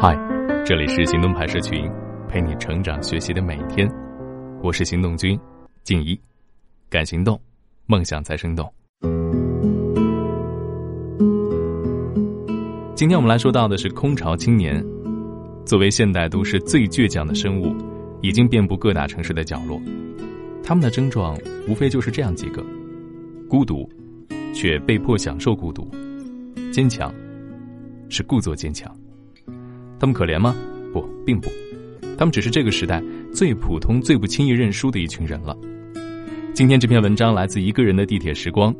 嗨，这里是行动派社群，陪你成长学习的每一天。我是行动君静怡，敢行动，梦想才生动。今天我们来说到的是空巢青年。作为现代都市最倔强的生物，已经遍布各大城市的角落。他们的症状无非就是这样几个：孤独，却被迫享受孤独；坚强，是故作坚强。他们可怜吗？不，并不。他们只是这个时代最普通、最不轻易认输的一群人了。今天这篇文章来自一个人的地铁时光。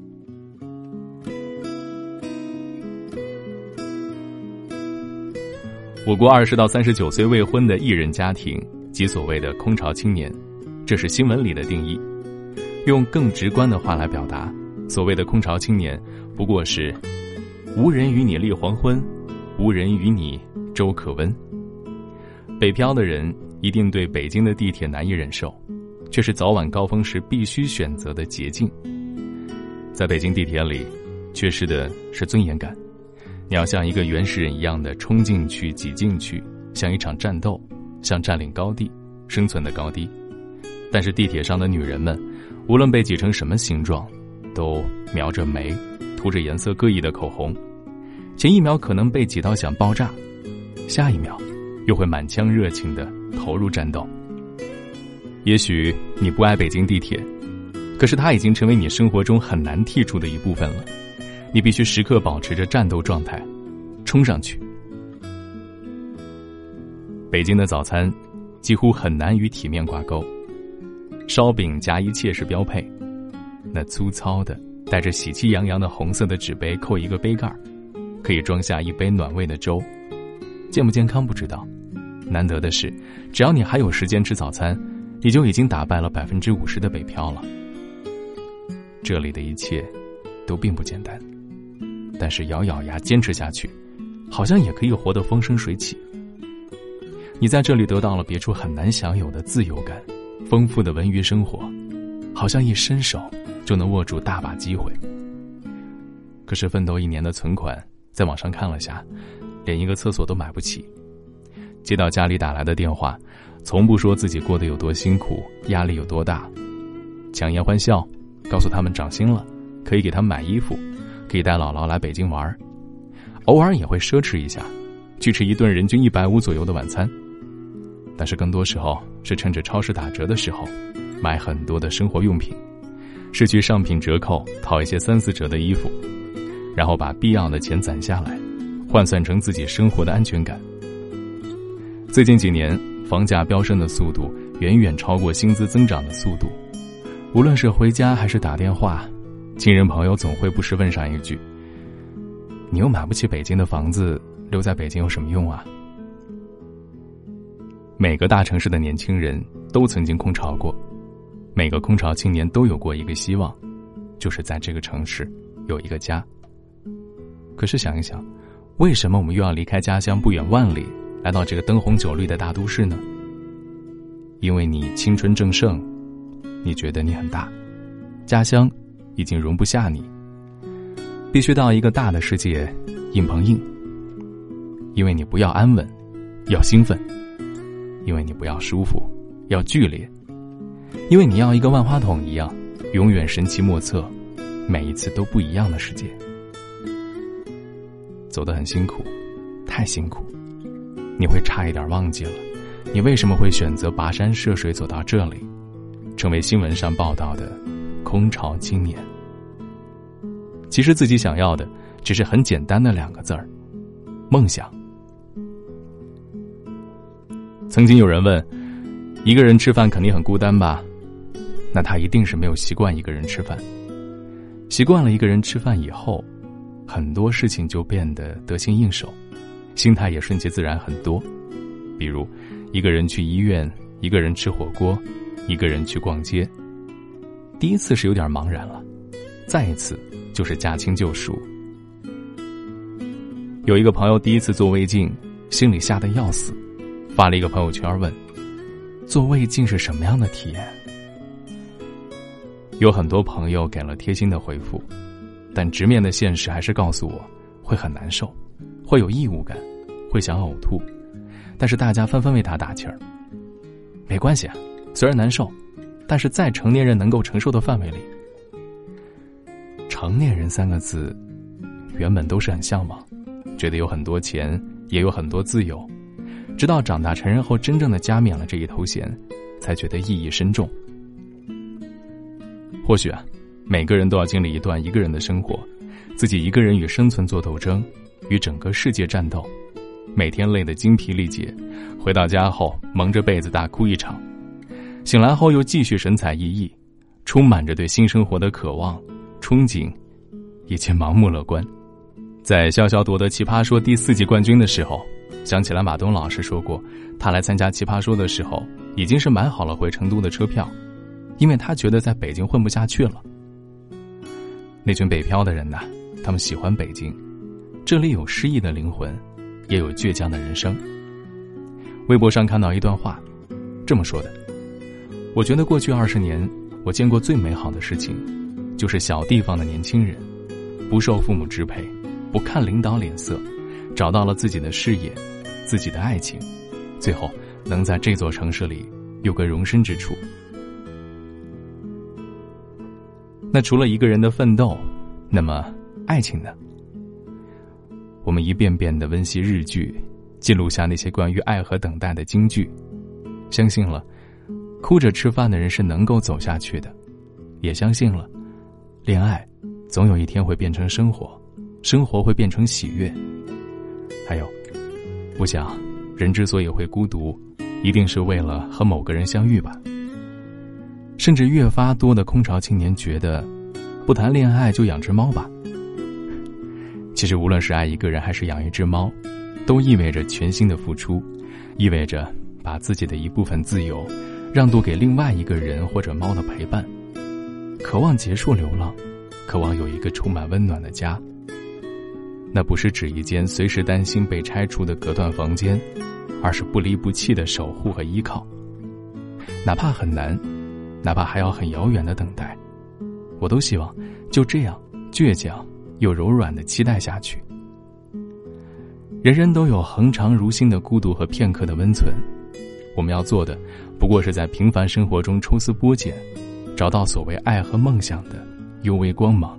我国20到39岁未婚的艺人家庭即所谓的空巢青年，这是新闻里的定义。用更直观的话来表达，所谓的空巢青年不过是无人与你立黄昏，无人与你粥可温。北漂的人一定对北京的地铁难以忍受，却是早晚高峰时必须选择的捷径。在北京地铁里，缺失的是尊严感。你要像一个原始人一样的冲进去、挤进去，像一场战斗，像占领高地、生存的高低。但是地铁上的女人们，无论被挤成什么形状，都描着眉，涂着颜色各异的口红。前一秒可能被挤到想爆炸，下一秒又会满腔热情地投入战斗。也许你不爱北京地铁，可是它已经成为你生活中很难剔除的一部分了。你必须时刻保持着战斗状态，冲上去。北京的早餐几乎很难与体面挂钩，烧饼夹一切是标配。那粗糙的带着喜气洋洋的红色的纸杯扣一个杯盖，可以装下一杯暖胃的粥。健不健康不知道，难得的是只要你还有时间吃早餐，你就已经打败了50%的北漂了。这里的一切都并不简单，但是咬咬牙坚持下去，好像也可以活得风生水起。你在这里得到了别处很难享有的自由感，丰富的文娱生活，好像一伸手就能握住大把机会。可是奋斗1年的存款，在网上看了下，连一个厕所都买不起。接到家里打来的电话，从不说自己过得有多辛苦，压力有多大，强颜欢笑，告诉他们涨薪了，可以给他们买衣服，可以带姥姥来北京玩，偶尔也会奢侈一下，去吃一顿人均150左右的晚餐。但是更多时候是趁着超市打折的时候，买很多的生活用品，是去上品折扣淘一些3、4折的衣服，然后把必要的钱攒下来，换算成自己生活的安全感。最近几年，房价飙升的速度远远超过薪资增长的速度。无论是回家还是打电话，亲人朋友总会不时问上一句：你又买不起北京的房子，留在北京有什么用啊？每个大城市的年轻人都曾经空巢过，每个空巢青年都有过一个希望，就是在这个城市有一个家。可是想一想，为什么我们又要离开家乡不远万里，来到这个灯红酒绿的大都市呢？因为你青春正盛，你觉得你很大，家乡已经容不下你，必须到一个大的世界硬碰硬。因为你不要安稳，要兴奋；因为你不要舒服，要剧烈；因为你要一个万花筒一样，永远神奇莫测，每一次都不一样的世界。走得很辛苦，太辛苦，你会差一点忘记了，你为什么会选择跋山涉水走到这里，成为新闻上报道的空巢青年。其实自己想要的只是很简单的2个字儿：梦想。曾经有人问，一个人吃饭肯定很孤单吧？那他一定是没有习惯一个人吃饭。习惯了一个人吃饭以后，很多事情就变得得心应手，心态也顺其自然很多。比如一个人去医院，一个人吃火锅，一个人去逛街。第一次是有点茫然了，再一次就是驾轻就熟。有一个朋友第一次做胃镜，心里吓得要死，发了一个朋友圈问：做胃镜是什么样的体验？有很多朋友给了贴心的回复，但直面的现实还是告诉我，会很难受，会有异物感， 会想呕吐，但是大家纷纷为他打气儿。没关系啊，虽然难受，但是在成年人能够承受的范围里。成年人3个字原本都是很向往，觉得有很多钱，也有很多自由，直到长大成人后真正的加冕了这一头衔，才觉得意义深重。或许啊，每个人都要经历一段一个人的生活，自己一个人与生存做斗争，与整个世界战斗，每天累得精疲力竭，回到家后蒙着被子大哭一场，醒来后又继续神采奕奕，充满着对新生活的渴望、憧憬以及盲目乐观。在潇潇夺得奇葩说第4季冠军的时候，想起来马东老师说过，他来参加奇葩说的时候已经是买好了回成都的车票，因为他觉得在北京混不下去了。那群北漂的人呐，他们喜欢北京，这里有诗意的灵魂，也有倔强的人生。微博上看到一段话，这么说的：我觉得过去20年，我见过最美好的事情，就是小地方的年轻人，不受父母支配，不看领导脸色，找到了自己的事业，自己的爱情，最后能在这座城市里有个容身之处。那除了一个人的奋斗，那么爱情呢？我们一遍遍地温习日剧，记录下那些关于爱和等待的金句，相信了哭着吃饭的人是能够走下去的，也相信了恋爱总有一天会变成生活，生活会变成喜悦。还有，我想人之所以会孤独，一定是为了和某个人相遇吧。甚至越发多的空巢青年觉得，不谈恋爱就养只猫吧。其实无论是爱一个人还是养一只猫，都意味着全新的付出，意味着把自己的一部分自由让渡给另外一个人或者猫的陪伴，渴望结束流浪，渴望有一个充满温暖的家。那不是指一间随时担心被拆除的隔断房间，而是不离不弃的守护和依靠。哪怕很难，哪怕还要很遥远的等待，我都希望就这样倔强又柔软的期待下去。人人都有恒长如新的孤独和片刻的温存，我们要做的不过是在平凡生活中抽丝剥茧，找到所谓爱和梦想的幽微光芒。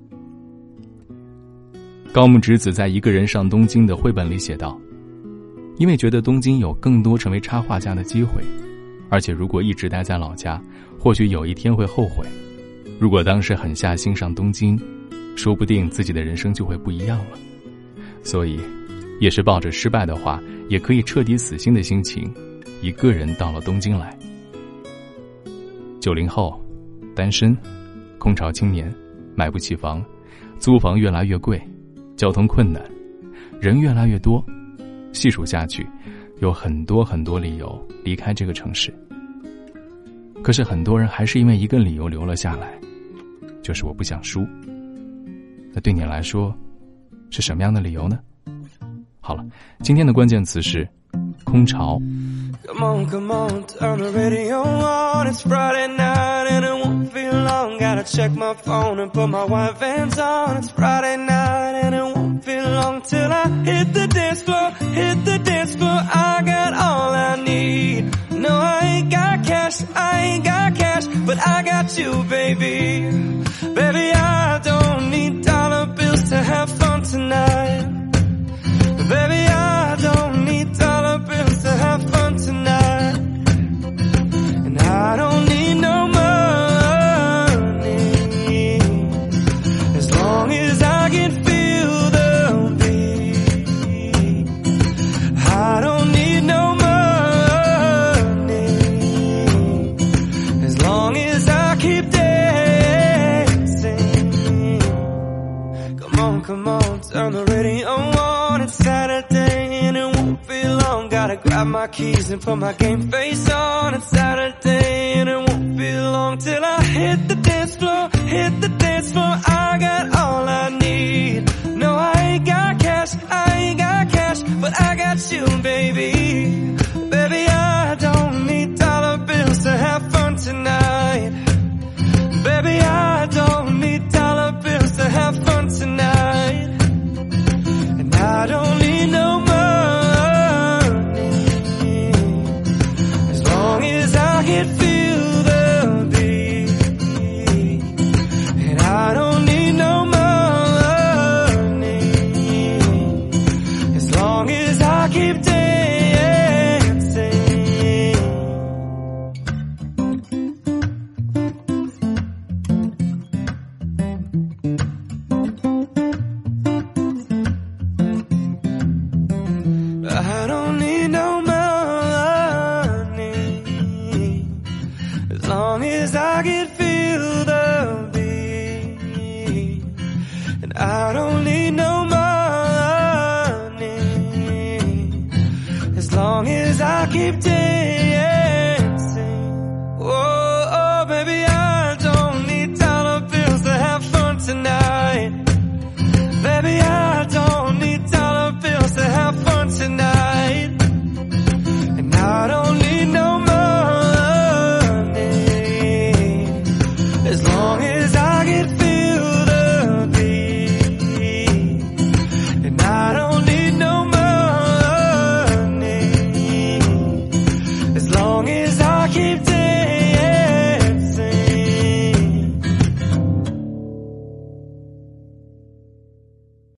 高木直子在《一个人上东京》的绘本里写道，因为觉得东京有更多成为插画家的机会，而且如果一直待在老家，或许有一天会后悔。如果当时狠下心上东京，说不定自己的人生就会不一样了。所以也是抱着失败的话也可以彻底死心的心情，一个人到了东京来。90后，单身，空巢青年，买不起房，租房越来越贵，交通困难，人越来越多，细数下去，有很多很多理由离开这个城市。可是很多人还是因为一个理由留了下来，就是我不想输。那对你来说是什么样的理由呢？好了，今天的关键词是空巢。 Come on, come on, turn the radio on. It's Friday night and it won't feel long. Gotta check my phone and put my white vans on. It's Friday night and it won't feel long till I hit the dance floor, hit the dance floor. I got all I need. No, I ain't got cash, but I got you, baby. Baby, I don't need dollar bills to have fun tonight. Baby, I don't need dollar bills to have fun tonight. And I don't need no money, as long as I can feel the beat. I don't need no money, as long as I keep dancing. Come on, turn the radio on. It's Saturday and it won't be long. Gotta grab my keys and put my game face on. It's Saturday and it won't be long till I hit the dance floor, hit the dance floor. I got all I need. No, I ain't got cash, but I got you, baby. Baby, I don't need dollar bills to have fun tonight. Baby, I don't need dollar bills to have fun tonight. And I don't need no money, I don't need no money, as long as I can feel the beat. And I don't need no money, as long as I keep dancing.